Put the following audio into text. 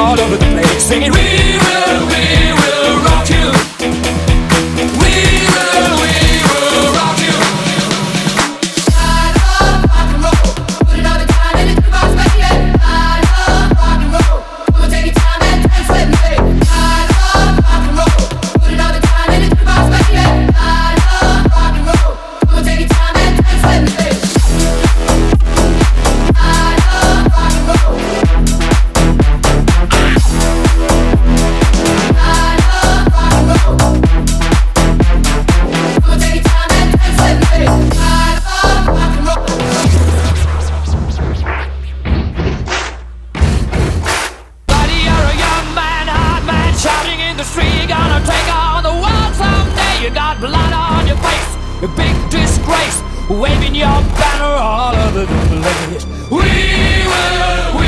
all over the place, singing we will rock you. We will rock you. I love rock and roll. Put it all the time in the jukebox, baby. I love rock and roll. Come on, take your time and dance with me. I love rock and roll. Put it all the time in the jukebox, baby. I love rock and roll. Come on, take your time and dance with me. I love rock and roll. I love rock and roll. Come on, take your time and dance with me. I love rock and roll. Buddy, you're a young man, hard man, shouting in the street. You're gonna take on the world someday. You got blood on your face, a big disgrace, waving your banner all over the place. We